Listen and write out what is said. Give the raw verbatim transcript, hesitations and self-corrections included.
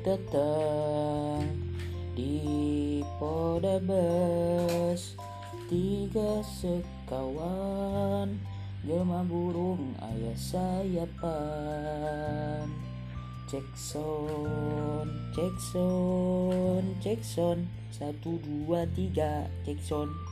datang di Podabes, tiga sekawan gema burung ayah sayapan. Cek sound, cek sound, cek sound, satu dua tiga, cek sound.